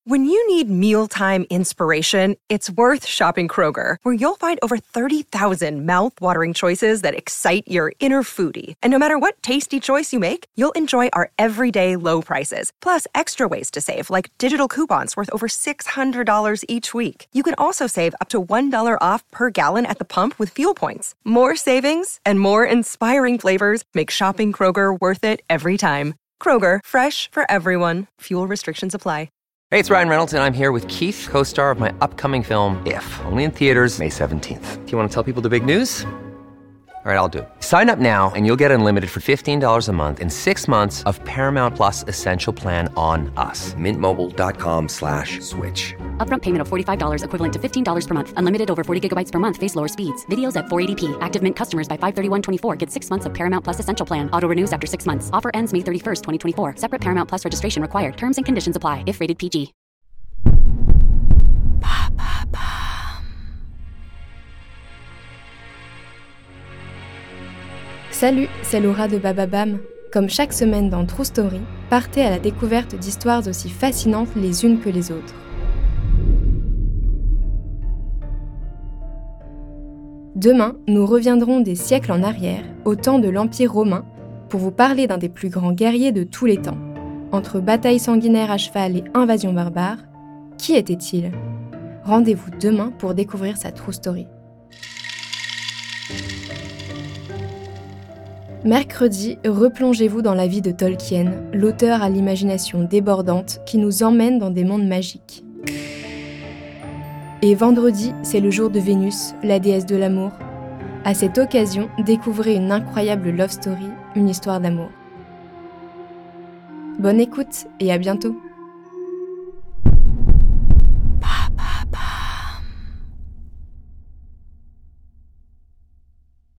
When you need mealtime inspiration, it's worth shopping Kroger, where you'll find over 30,000 mouth-watering choices that excite your inner foodie. And no matter what tasty choice you make, you'll enjoy our everyday low prices, plus extra ways to save, like digital coupons worth over $600 each week. You can also save up to $1 off per gallon at the pump with fuel points. More savings and more inspiring flavors make shopping Kroger worth it every time. Kroger, fresh for everyone. Fuel restrictions apply. Hey, it's Ryan Reynolds, and I'm here with Keith, co-star of my upcoming film, If, only in theaters May 17th. Do you want to tell people the big news? All right, I'll do it. Sign up now and you'll get unlimited for $15 a month and 6 months of Paramount Plus Essential Plan on us. MintMobile.com/switch. Upfront payment of $45 equivalent to $15 per month. Unlimited over 40 gigabytes per month. Face lower speeds. Videos at 480p. Active Mint customers by 531.24 get 6 months of Paramount Plus Essential Plan. Auto renews after 6 months. Offer ends May 31st, 2024. Separate Paramount Plus registration required. Terms and conditions apply if rated PG. Salut, c'est Laura de Bababam. Comme chaque semaine dans True Story, partez à la découverte d'histoires aussi fascinantes les unes que les autres. Demain, nous reviendrons des siècles en arrière, au temps de l'Empire romain, pour vous parler d'un des plus grands guerriers de tous les temps. Entre batailles sanguinaires à cheval et invasions barbares, qui était-il ? Rendez-vous demain pour découvrir sa True Story. Mercredi, replongez-vous dans la vie de Tolkien, l'auteur à l'imagination débordante qui nous emmène dans des mondes magiques. Et vendredi, c'est le jour de Vénus, la déesse de l'amour. À cette occasion, découvrez une incroyable love story, une histoire d'amour. Bonne écoute et à bientôt!